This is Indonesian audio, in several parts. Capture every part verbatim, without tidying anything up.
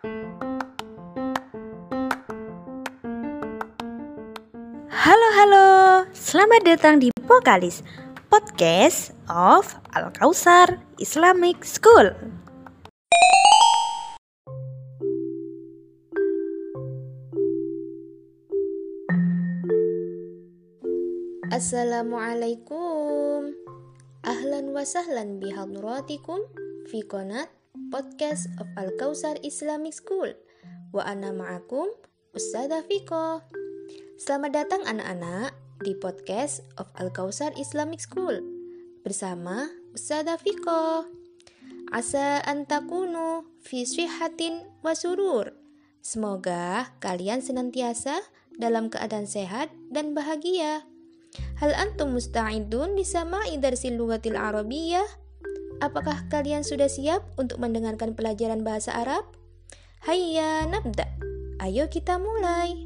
Halo halo, selamat datang di Pokalis, podcast of Al-Kausar Islamic School. Assalamualaikum. Ahlan wa sahlan bihadratikum fi qanat podcast of Al-Kausar Islamic School. Wa ana ma'akum Ustadzah Fiko. Selamat datang anak-anak di podcast of Al-Kausar Islamic School bersama Ustadzah Fiko. Asa antakunu fi syihatin wa surur. Semoga kalian senantiasa dalam keadaan sehat dan bahagia. Hal antum musta'idun lisama'i darsil lughatil arabiyyah? Apakah kalian sudah siap untuk mendengarkan pelajaran bahasa Arab? Hayya nabda. Ayo kita mulai.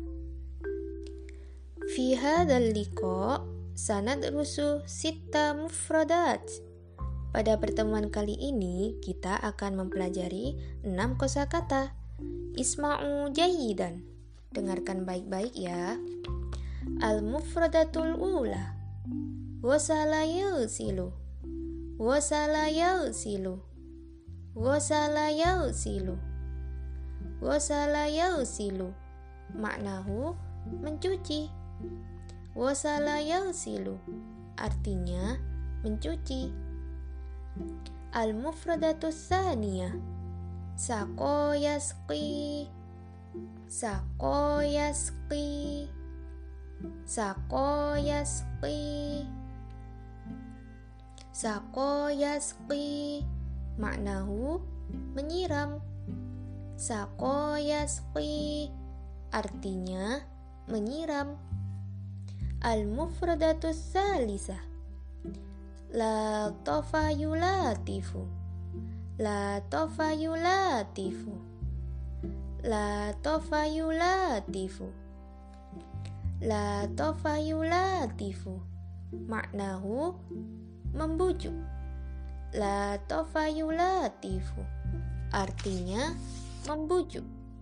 Fi hadzal liqa sanadrusu sitta mufradat. Pada pertemuan kali ini kita akan mempelajari enam kosakata. Isma'u jayyidan. Dengarkan baik-baik ya. Al-mufradatul ula wasala yausilu wasala yausilu wasala yausilu wasala yausilu maknahu mencuci. Wasala yausilu artinya mencuci. Al-mufradatus saniyah saqo yasqi saqo yasqi Sako yasqi Sako yasqi maknahu menyiram. Sako yasqi artinya menyiram. Al-mufradatus salisah la tafayulatifu La tafayulatifu La tafayulatifu La tafayulatifu maknahu membujuk. La tafayulatifu artinya membujuk.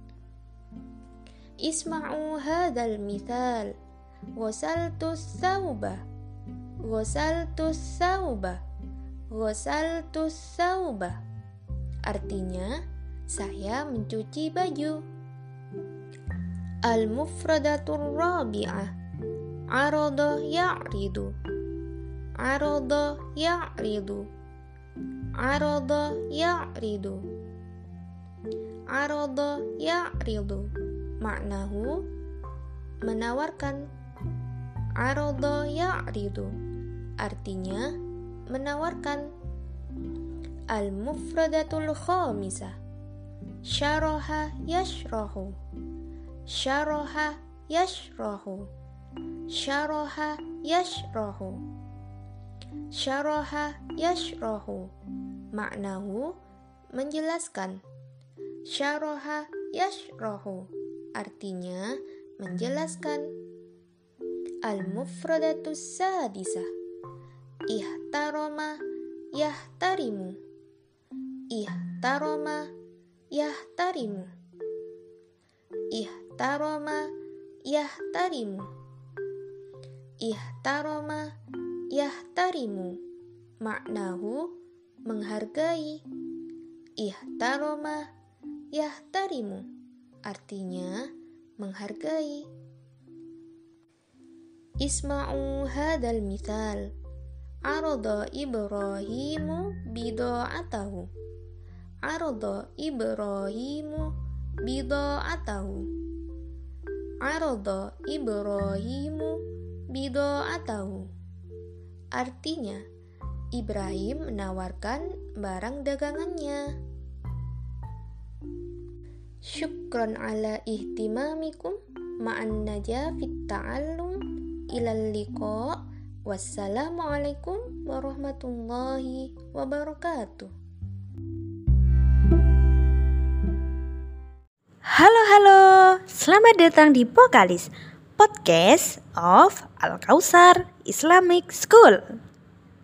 Isma'u hadzal mithal ghasaltus sauba ghasaltus sauba ghasaltus sauba artinya saya mencuci baju. Al-mufradatur rabi'ah arada ya'ridu arada ya'ridu arada ya'ridu arada ya'ridu maknahu menawarkan. Arada ya'ridu artinya menawarkan. Al-mufradatul khamisah syaraha yashrahu Syaraha yashrahu Syaraha yashrahu Syaraha yashrahu maknahu menjelaskan. Syaraha yashrahu artinya menjelaskan. Al-mufradatus sadisah ihtarama yahtarimu Ihtarama yahtarimu Ihtarama yahtarimu Ihtarama yahtarimu maknahu menghargai. Ihtarama yahtarimu artinya menghargai. Isma'u hadzal mithal arada Ibrahimu bida'atahu Arada Ibrahimu bida'atahu Arada Ibrahimu bida'atahu artinya Ibrahim menawarkan barang dagangannya. Syukran ala ihtimamikum ma'an najah fit ta'allum ilal liqa. Wassalamualaikum warahmatullahi wabarakatuh. Halo halo, selamat datang di Pokalis, podcast of Al-Kausar Islamic School.